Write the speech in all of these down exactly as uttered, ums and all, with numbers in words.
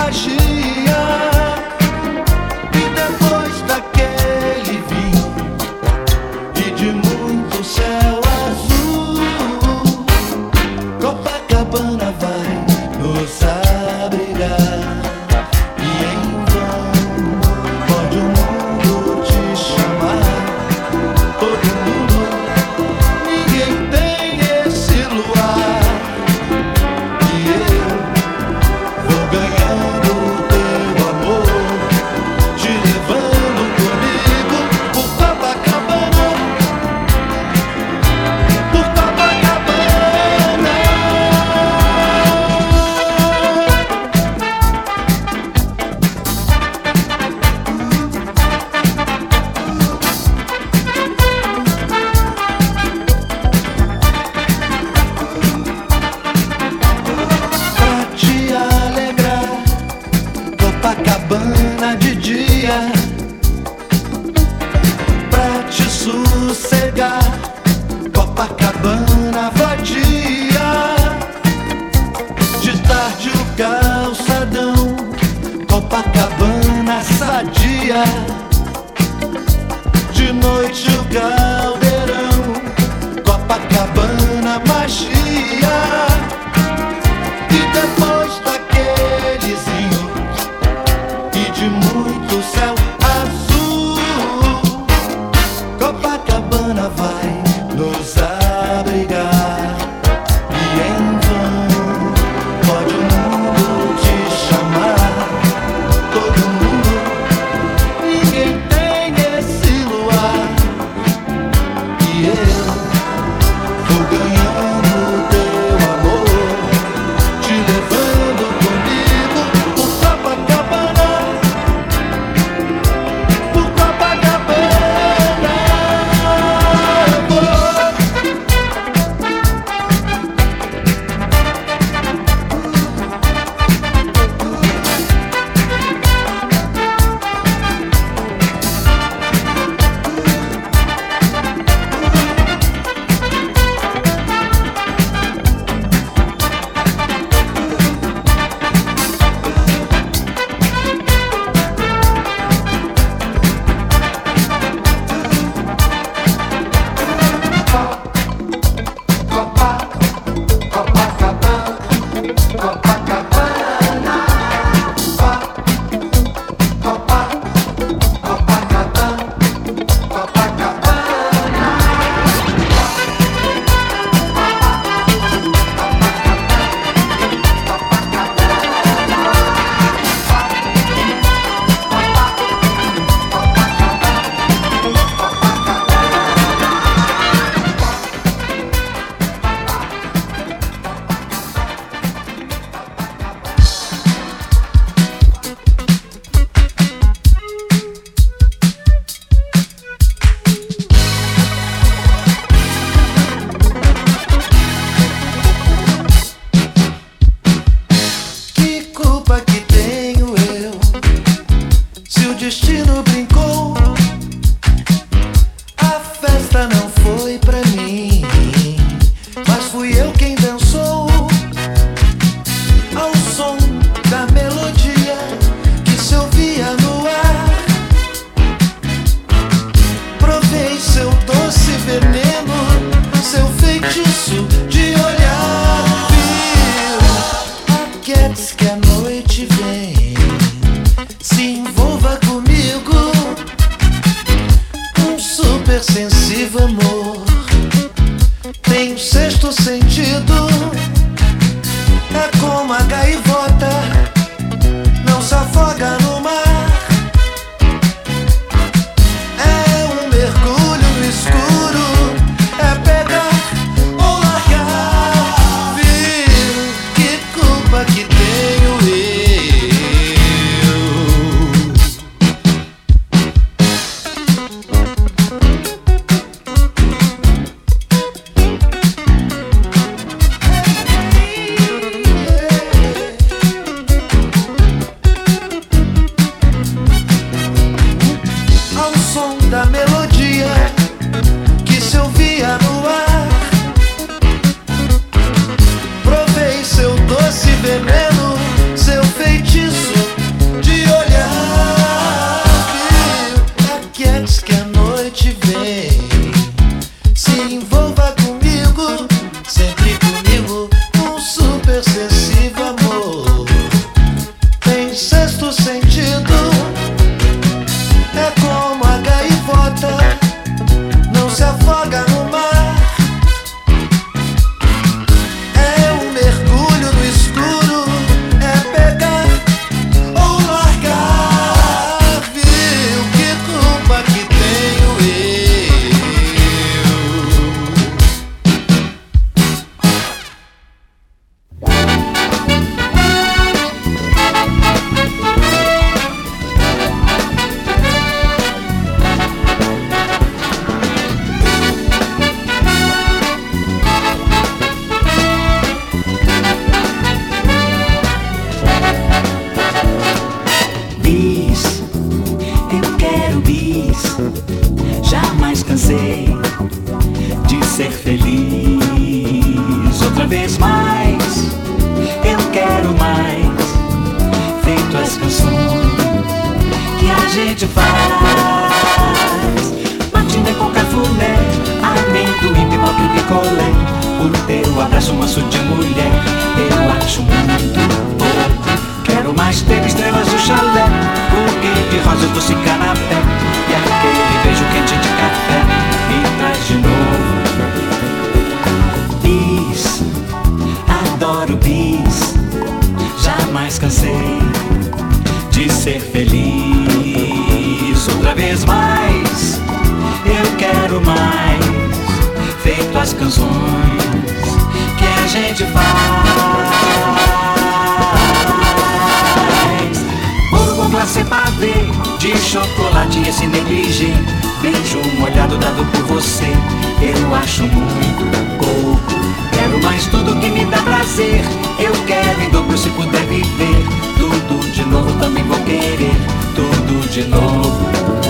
magia. E depois daquele vinho e de muito céu azul, Copacabana vai nos abrigar. E em vão pode o mundo te chamar, todo mundo, ninguém tem esse luar. E eu vou ganhando o teu amor, te levando comigo por Copacabana, por Copacabana. Pra te alegrar, Copacabana de dia. Pra te sossegar, Copacabana vadia. De tarde o calçadão, Copacabana sadia. De noite o caldeirão, Copacabana magia. E depois daquele zinho e de muito céu azul, Copacabana vai nos abrigar. E em vão pode o mundo te chamar, todo mundo, ninguém tem esse luar. sexto sentido. É como a gaivota, não se afoga no mar. É um mergulho no escuro, é pegar ou largar. Viu que culpa que tenho de ser feliz outra vez mais. Eu quero mais, feito as canções que a gente faz. Matinê com cafuné, amendoim, pipoca e picolé. O teu abraço, manso de mulher, eu acho muito pouco. Quero mais ter estrelas do chalé, buquê de rosas, doce canapé e aquele beijo quente de café. Me traz de novo bis, adoro bis. Jamais cansei de ser feliz outra vez mais. Eu quero mais, feito as canções que a gente faz. Bolo com glacê pavê, de chocolate esse negligê. Beijo molhado dado por você, eu acho muito pouco. Quero mais tudo que me dá prazer. Eu quero em dobro se puder viver. Tudo de novo também vou querer. Tudo de novo.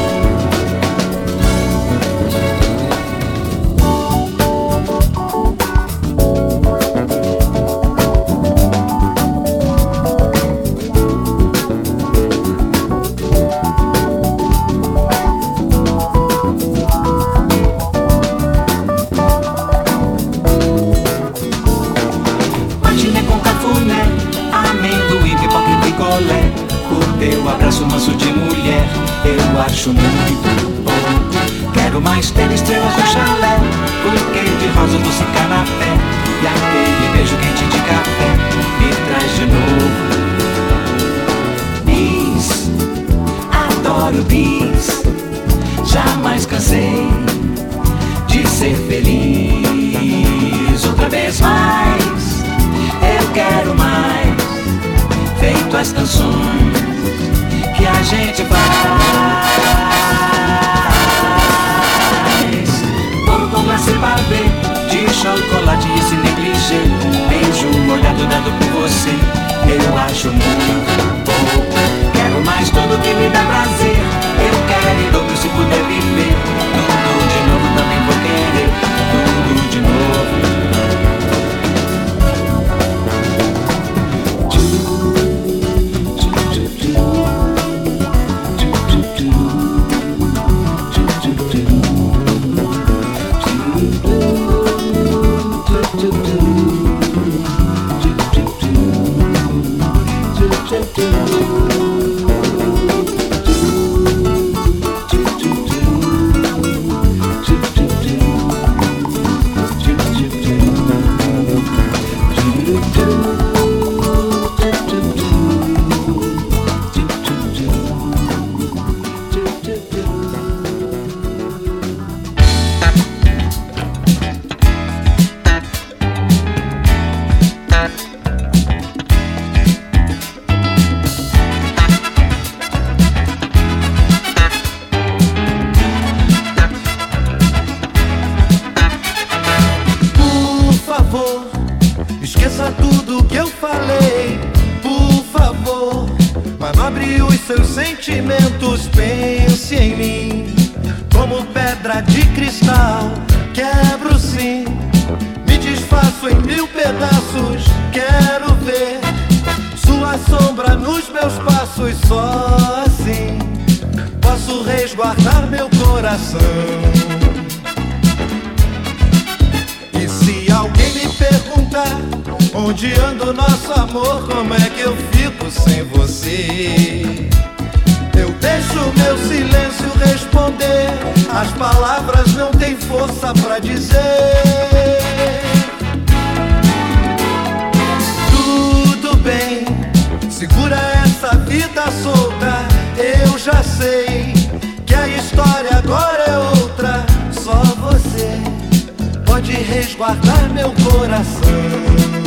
Eu acho muito pouco. Quero mais ter estrelas no chalé, buquê de rosa, doce canapé e aquele beijo quente de café. Me traz de novo bis, adoro bis. Jamais cansei de ser feliz outra vez mais. Eu quero mais, feito as canções que a gente faz. Bolo com glacê pavê, de chocolate e esse negligê. Beijo molhado dado por você, eu acho muito pouco. Quero mais tudo que me dá prazer. Eu quero em dobro se puder viver. Tudo de novo também vou querer. Tudo de novo. Esqueça tudo que eu falei, por favor. Manobre os seus sentimentos, pense em mim. Como pedra de cristal, quebro sim. Me desfaço em mil pedaços, quero ver sua sombra nos meus passos. Só assim posso resguardar meu coração. E se alguém me perguntar onde anda o nosso amor, como é que eu fico fico sem você. Eu deixo meu silêncio responder, as palavras não têm força pra dizer. Tudo bem, segura essa vida solta. Eu já sei que a história agora é outra. Só você pode resguardar meu coração.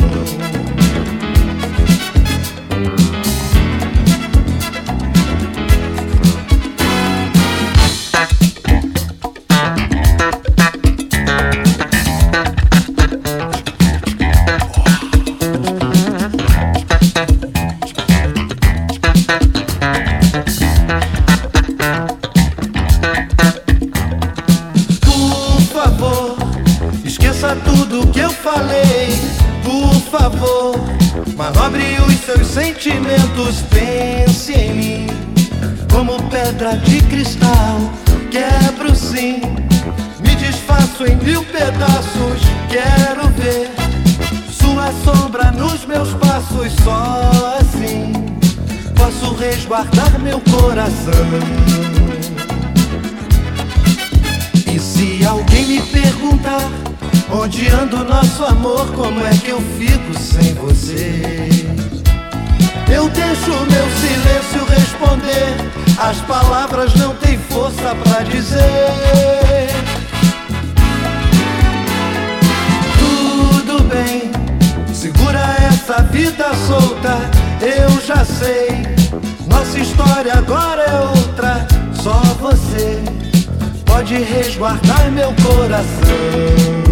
Tudo que eu falei, por favor, manobre os seus sentimentos, pense em mim. Como pedra de cristal, quebro sim, me desfaço em mil pedaços. Quero ver sua sombra nos meus passos, só assim posso resguardar meu coração. E se alguém me perguntar onde anda o nosso amor, como é que eu fico sem você? Eu deixo meu silêncio responder, as palavras não têm força pra dizer. Tudo bem, segura essa vida solta. Eu já sei, nossa história agora é outra. Só você pode resguardar meu coração.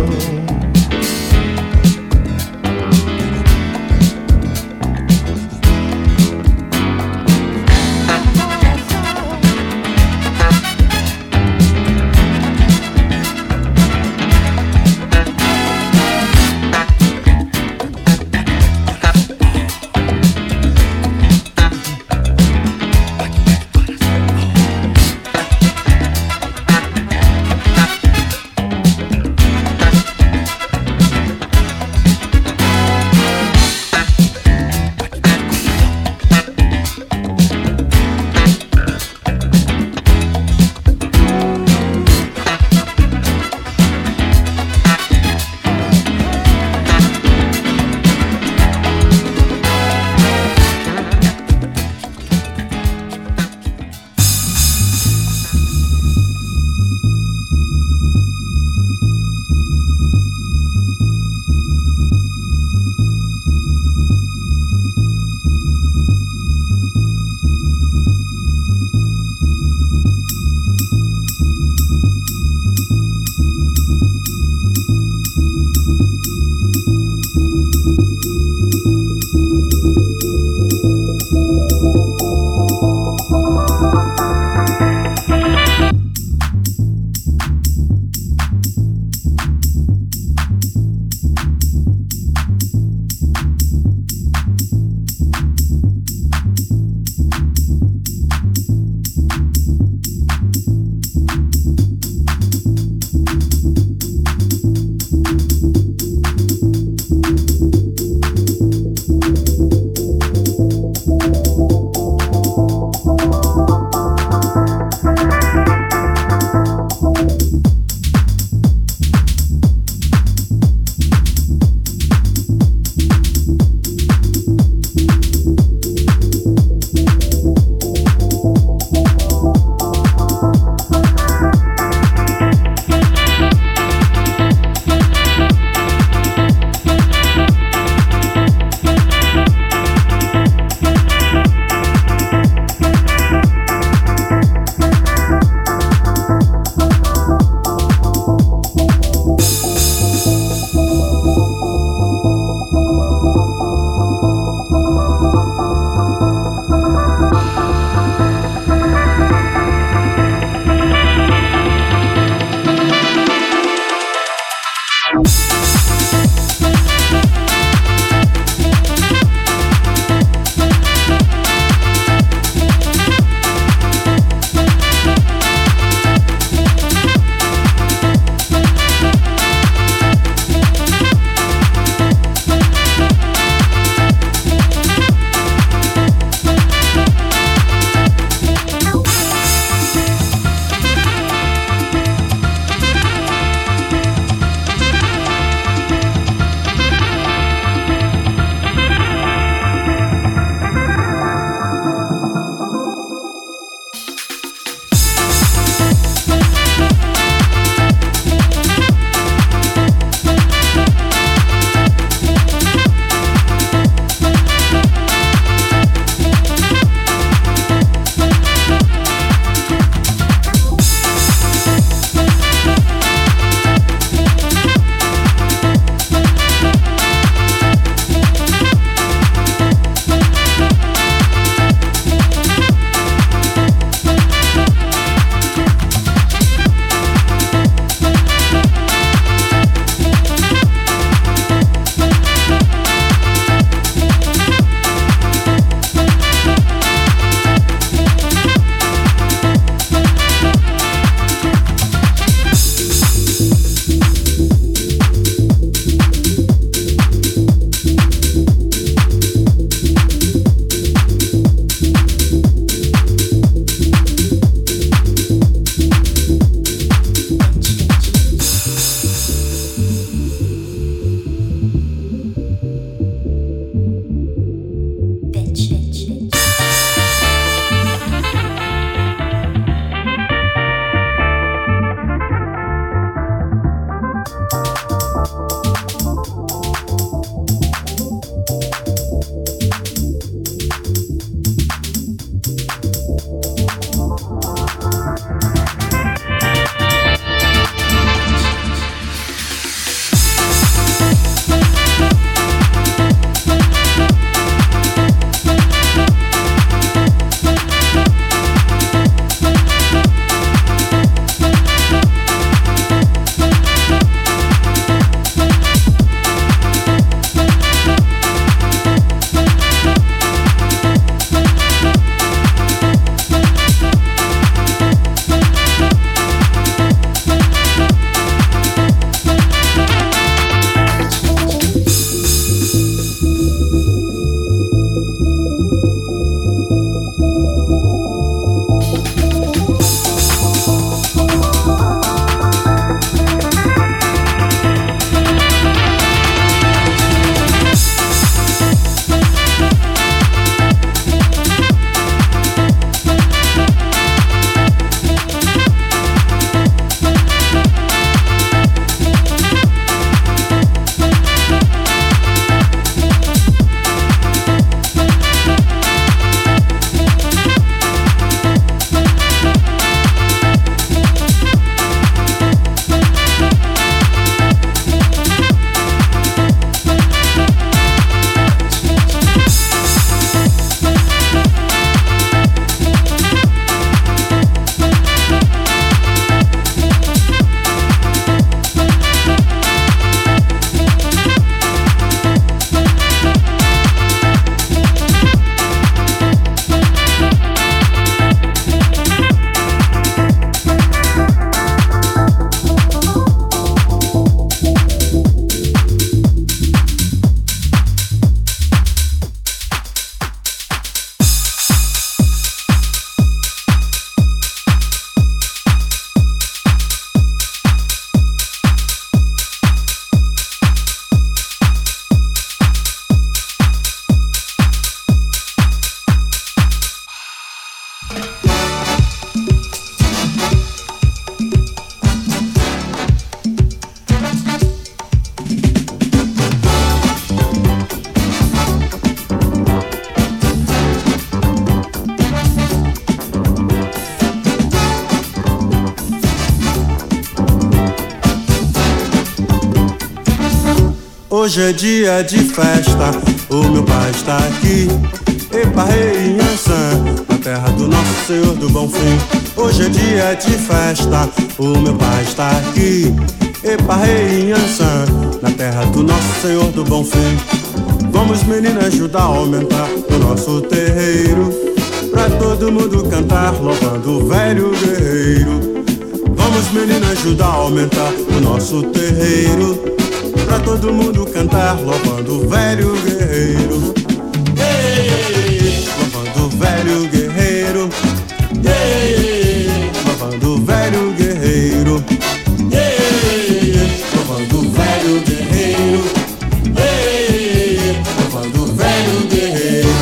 Hoje é dia de festa, o meu pai está aqui. Epa, rei, Ançã, na terra do nosso Senhor do Bom Fim. Hoje é dia de festa, o meu pai está aqui. Epa, rei, Ançã, na terra do nosso Senhor do Bom Fim. Vamos, meninas, ajudar a aumentar o nosso terreiro, pra todo mundo cantar, louvando o velho guerreiro. Vamos, meninas, ajudar a aumentar o nosso terreiro, pra todo mundo cantar, louvando o velho guerreiro. Ei, louvando o velho guerreiro. Ei, louvando o velho guerreiro. Ei, louvando o velho guerreiro. Ei, louvando o velho guerreiro.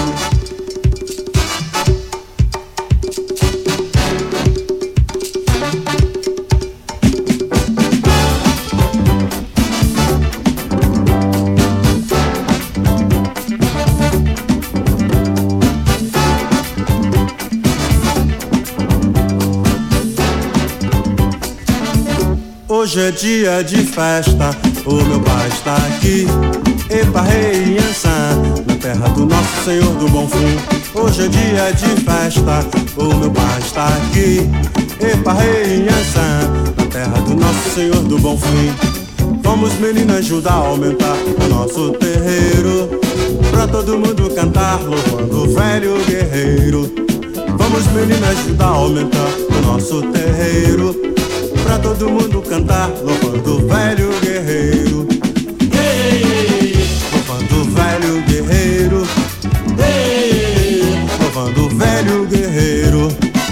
Hoje é dia de festa, o meu pai está aqui. Epa, rei, Ançã, na terra do nosso Senhor do Bom Fim. Hoje é dia de festa, o meu pai está aqui. Epa, rei, Ançã, na terra do nosso Senhor do Bom Fim. Vamos, meninas, ajudar a aumentar o nosso terreiro, pra todo mundo cantar, louvando o velho guerreiro. Vamos, meninas, ajudar a aumentar o nosso terreiro, pra todo mundo cantar, louvando o velho guerreiro. Ei, louvando o velho guerreiro. Ei, louvando o velho guerreiro.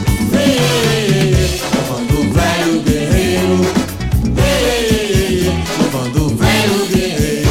Ei, louvando o velho guerreiro. Ei, louvando o velho guerreiro.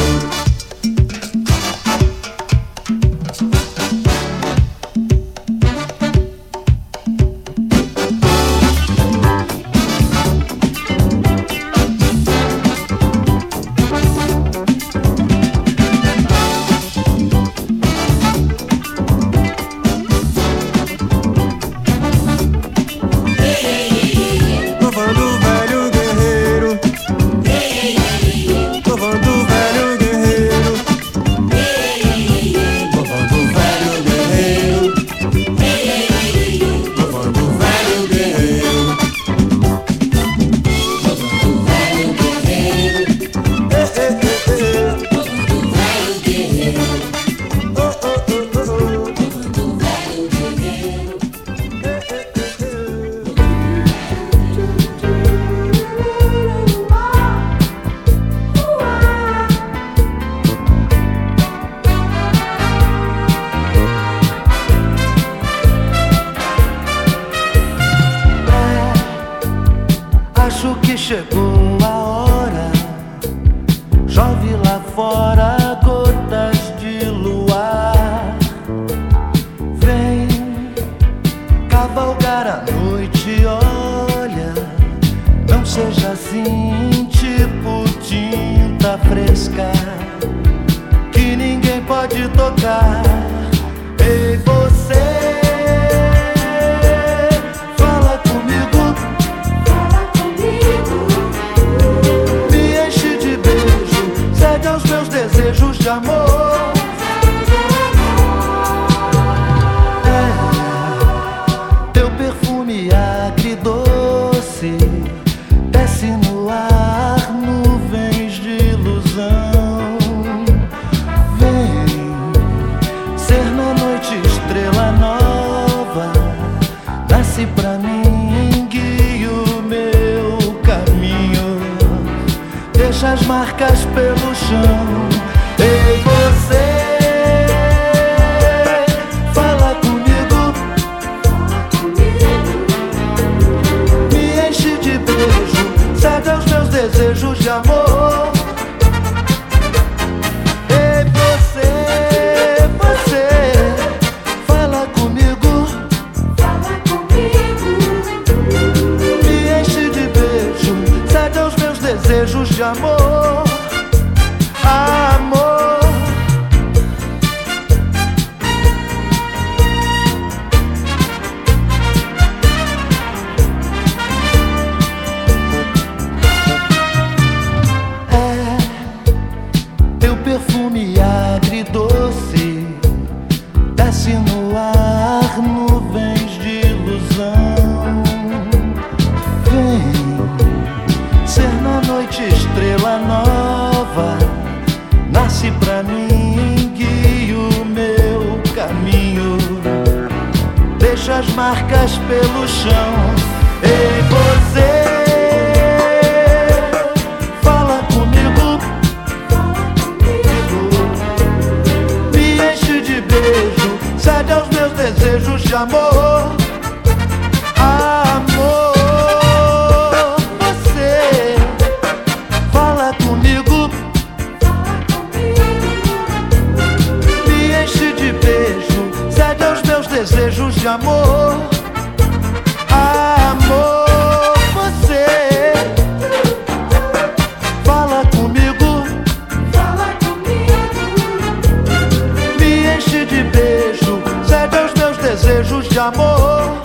Chegou a hora, chove lá fora, gotas de luar. Vem cavalgar a noite, olha, não seja assim, tipo tinta fresca, que ninguém pode tocar. Ei, você, desejos de amor. É, teu perfume agridoce desce no ar, nuvens de ilusão. Vem ser na noite deixa as marcas pelo chão. Ei, você, fala comigo, me enche de beijo, cede aos meus desejos de amor. Amor, você, fala comigo, me enche de beijo, cede aos meus desejos de amor. Amor, você, fala comigo, fala comigo, me enche de beijo, cede aos meus desejos de amor.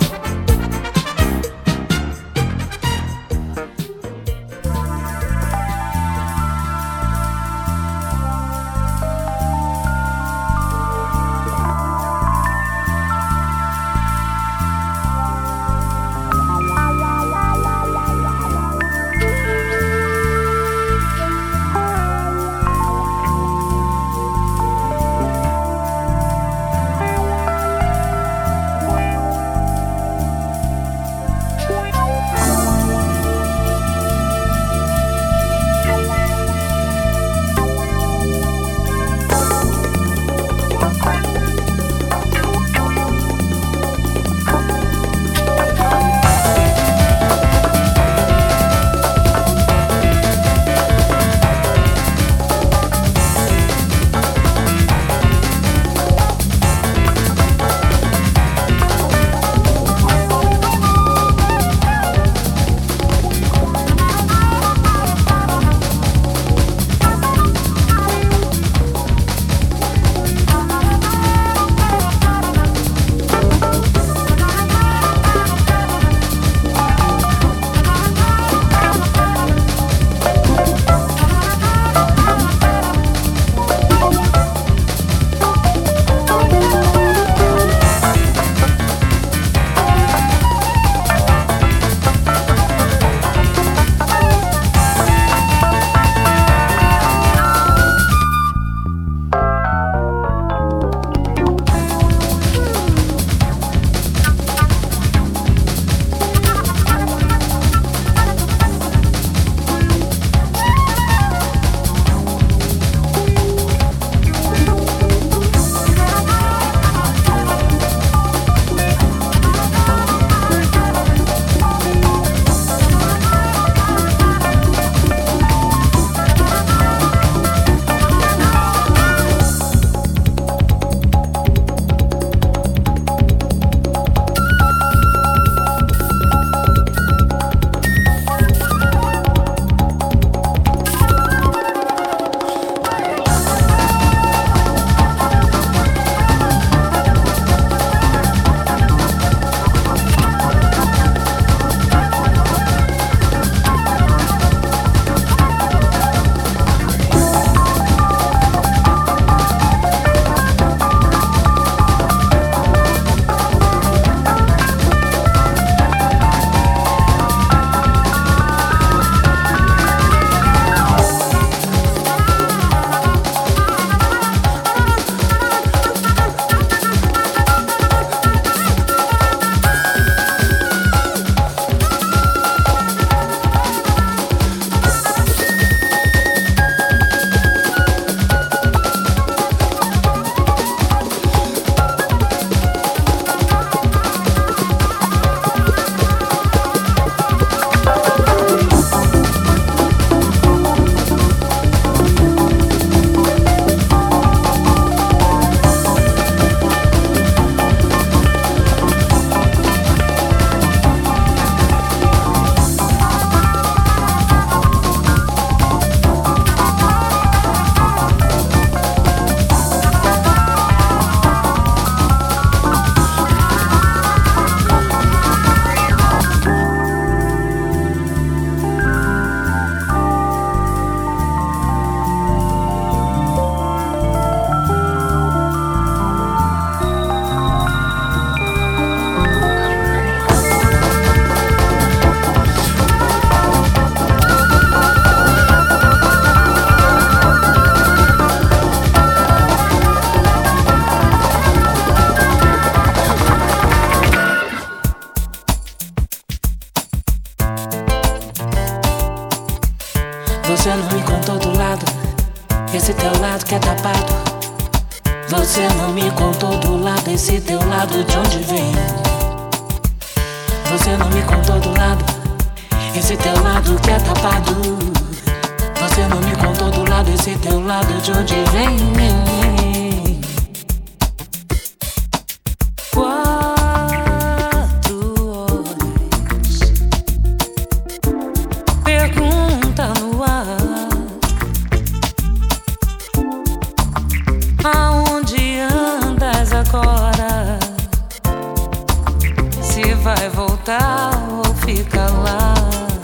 Você não me contou do lado, esse teu lado que é tapado. Você não me contou do lado, esse teu lado de onde vem. Você não me contou do lado, esse teu lado que é tapado. Você não me contou do lado, esse teu lado de onde vem. Quatro horas, pergunta no ar: aonde andas agora? Se vai voltar ou fica lá?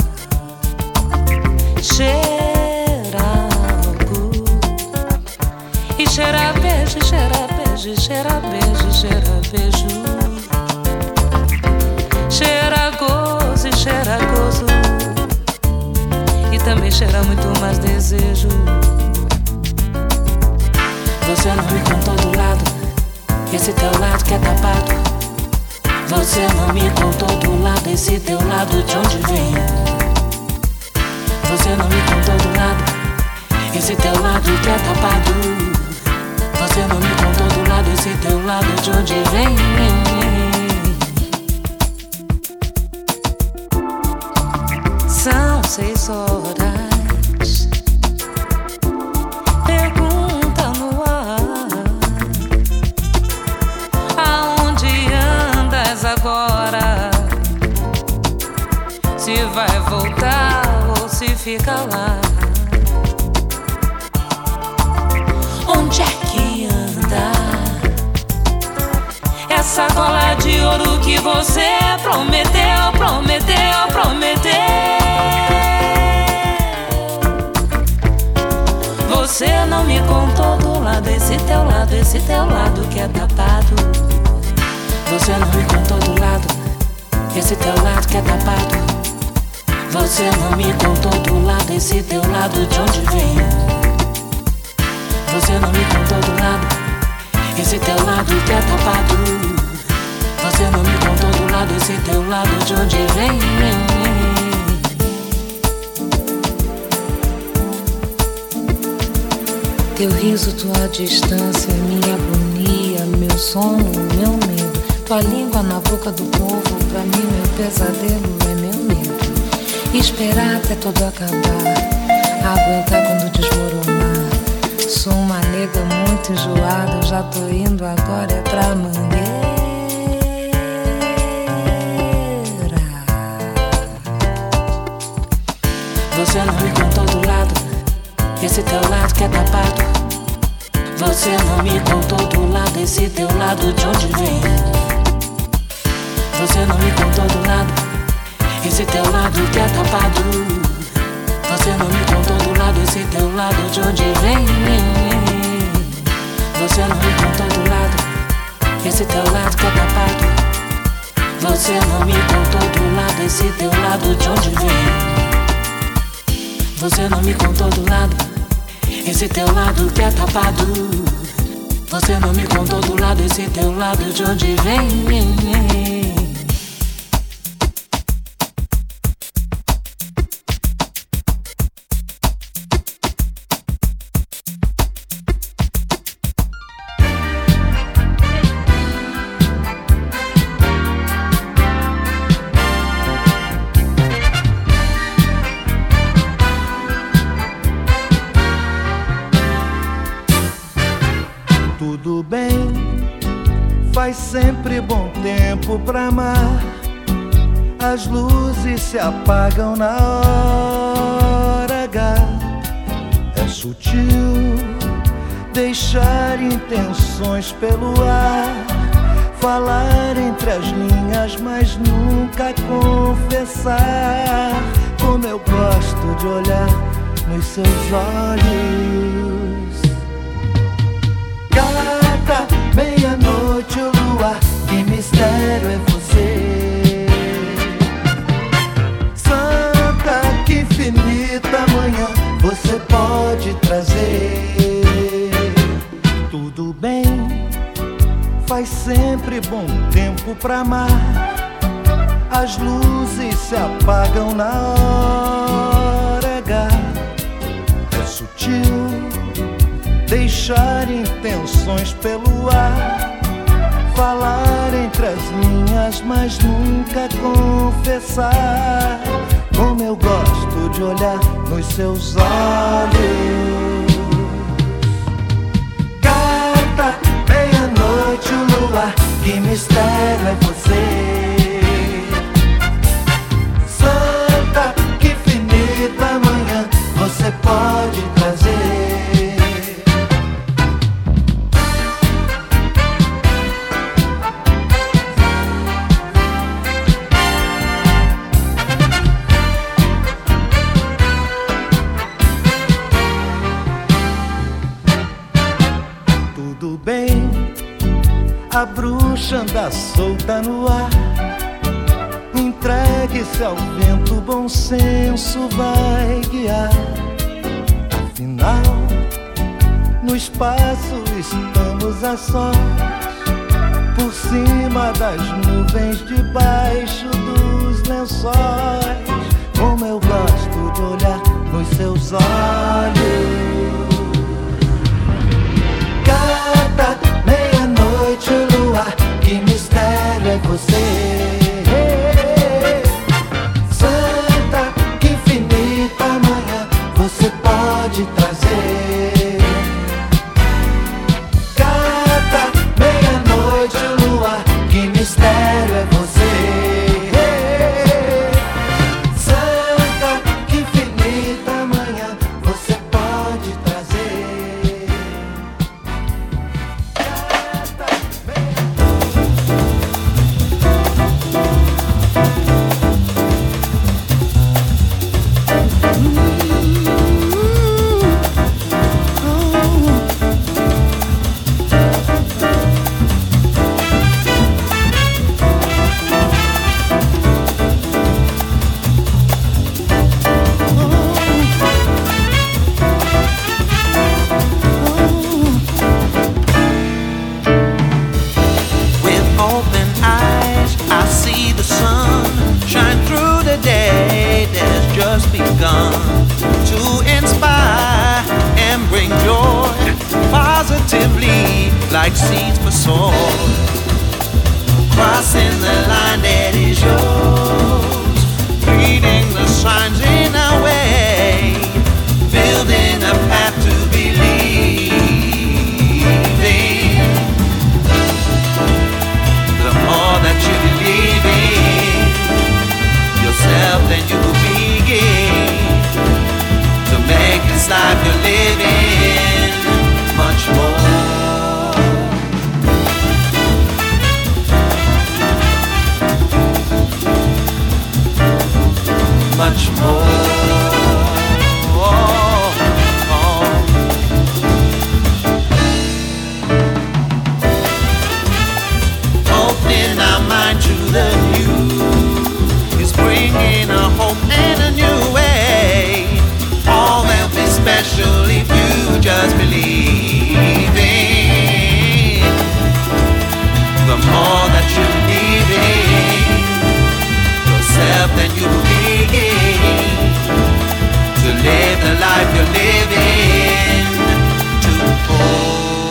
Cheira algo e cheira beijo, cheira beijo, cheira beijo, cheira beijo. Cheira gozo e cheira gozo, e também cheira muito mais desejo. Você não me contou do lado, esse teu lado que é tapado. Você não me contou do lado, esse teu lado de onde vem. Você não me contou do lado, esse teu lado que é tapado. Você não me contou do lado, esse teu lado de onde vem. São seis horas, pergunta no ar: aonde andas agora? Se vai voltar ou se fica lá? Onde é que anda essa gola de ouro que você prometeu, prometeu, prometeu? Você não me contou do lado, esse teu lado, esse teu lado que é tapado. Você não me contou do lado, esse teu lado que é tapado. Você não me contou do lado, esse teu lado de onde vem. Você não me contou do lado, esse teu lado que é tapado. Você não me contou do lado, esse teu lado de onde vem. Teu riso, tua distância, minha agonia, meu sono, meu medo. Tua língua na boca do povo, pra mim meu pesadelo é meu medo. Esperar até tudo acabar, aguentar quando desmoronar. Sou uma nega muito enjoada, eu já tô indo agora é pra Mangueira. Você não me contou do lado, esse teu lado que é tapado. Você não me contou do lado, esse teu lado de onde vem. Você não me contou do lado, esse teu lado que é tapado. Você não me contou do lado, esse teu lado de onde vem. Você não me contou do lado, esse teu lado que é tapado. Você não me contou do lado, esse teu lado de onde vem. Você não me contou do lado, esse teu lado que é tapado. Você não me contou do lado, esse teu lado de onde vem. Tudo bem, faz sempre bom tempo pra amar. As luzes se apagam na hora H. É sutil deixar intenções pelo ar, falar entre as linhas, mas nunca confessar. Como eu gosto de olhar nos seus olhos. Gata, meia-noite o luar, que mistério é você. Santa, que infinita manhã você pode trazer. Tudo bem, faz sempre bom tempo pra amar. As luzes se apagam na hora H. sutil, deixar intenções pelo ar, falar entre as linhas, mas nunca confessar. Como eu gosto de olhar nos seus olhos. Carta, meia-noite, o luar, que mistério é você. Santa, que infinita manhã você pode trazer. Tudo bem, a bruxa anda solta no ar. Entregue-se ao vento, bom senso vai guiar. Afinal, no espaço estamos a sós, por cima das nuvens, debaixo dos lençóis. Como eu gosto de olhar nos seus olhos. Cada meia-noite, o luar, que mistério é você. Santa, que infinita manhã você pode trazer. Cada meia-noite, o luar, que mistério é você. Santa, que infinita manhã você pode trazer. Like seeds for soul, crossing the line that is yours, reading the signs in our way, building a path to believing. The more that you believe in yourself, then you will begin to make this life you're living much more. Much more. Oh, oh. Opening our mind to the new is bringing a hope and a new way. All will be special if you just believe in. The more that you believe in yourself, then you will begin to live the life you're living to hold.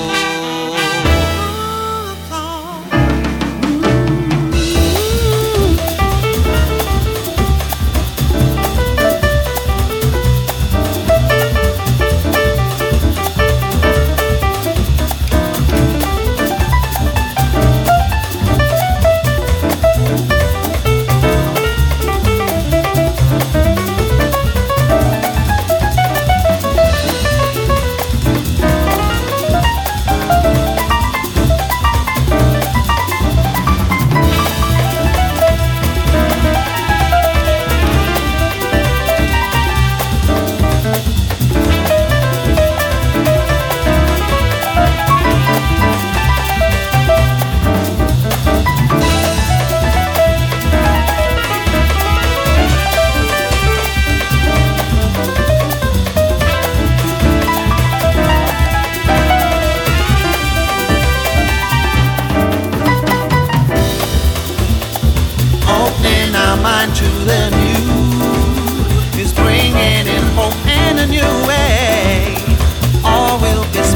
mind to the new is bringing in hope and a new way.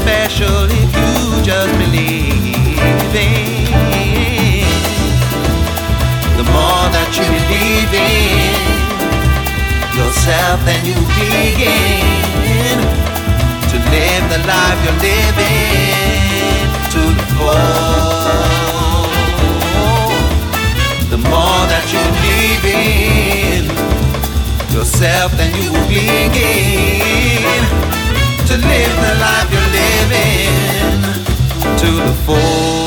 special if you just believe in. The more that you believe in yourself, then you begin to live the life you're living to the full. The more that you believe in yourself, then you will begin to live the life you're living to the full.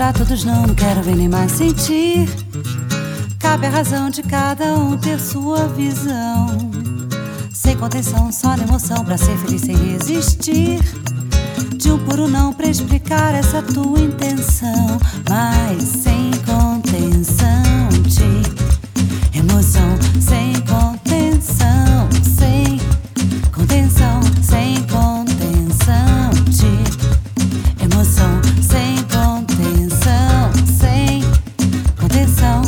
pra todos não, não quero ver nem mais sentir. Cabe a razão de cada um ter sua visão. Sem contenção, só na emoção, pra ser feliz sem resistir. De um puro não pra explicar essa tua intenção. Mas sem contenção de emoção. Sem contenção, sem contenção, sem contenção de emoção. Sem contenção, sem contenção.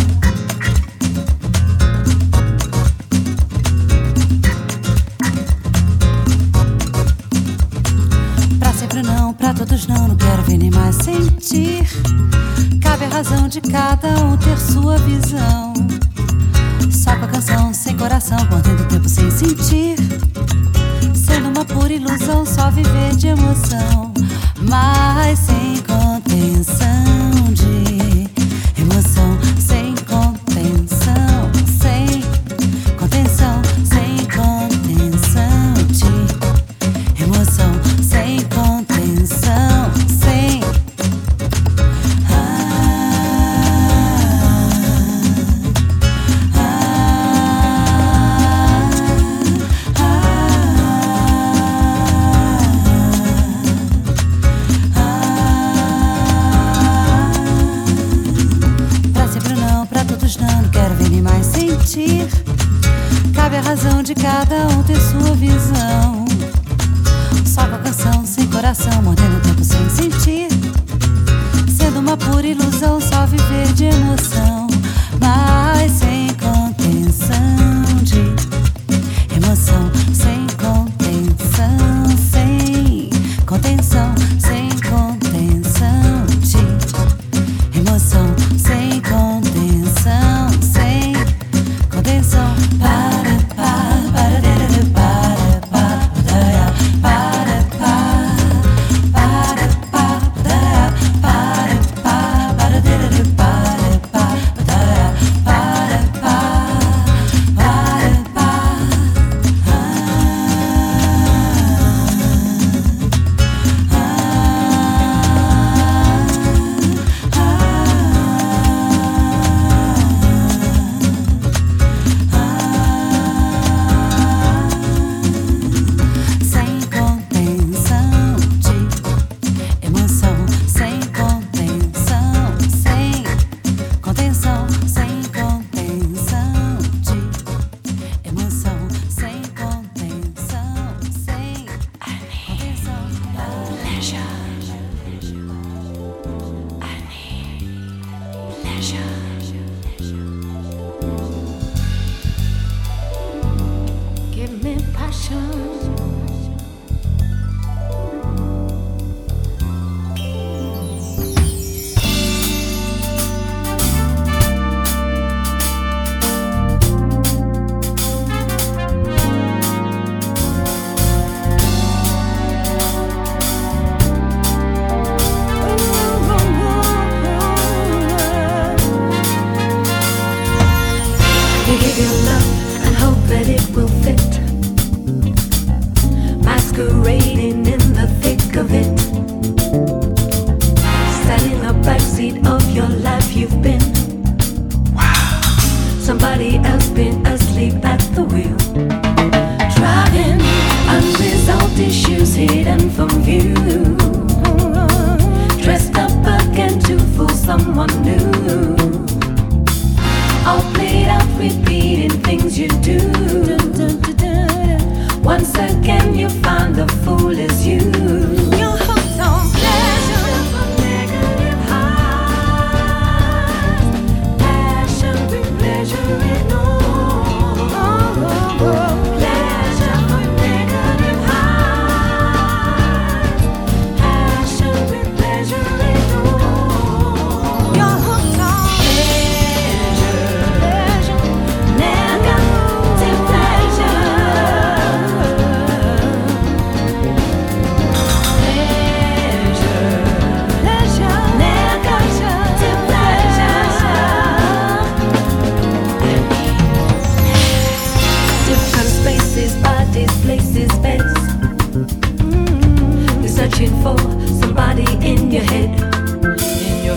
Pra sempre não, pra todos não, não quero ver nem mais sentir. Cabe a razão de cada um ter sua visão. Só com a canção, sem coração, contendo o tempo sem sentir. Sendo uma pura ilusão, só viver de emoção. Mas sem contenção de emoção. Sem contenção, sem contenção, sem contenção de emoção. Sem contenção, sem cabe a razão de cada um ter sua visão. Só com a canção, sem coração, mordendo o tempo sem sentir. Sendo uma pura ilusão, só viver de emoção. Mas sem contenção de emoção. Sem contenção, sem contenção, sem contenção de emoção. Sem contenção, sem contenção. Para, para, para, para, para, para, para, para, para,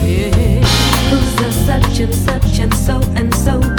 Who's the such and such and so and so?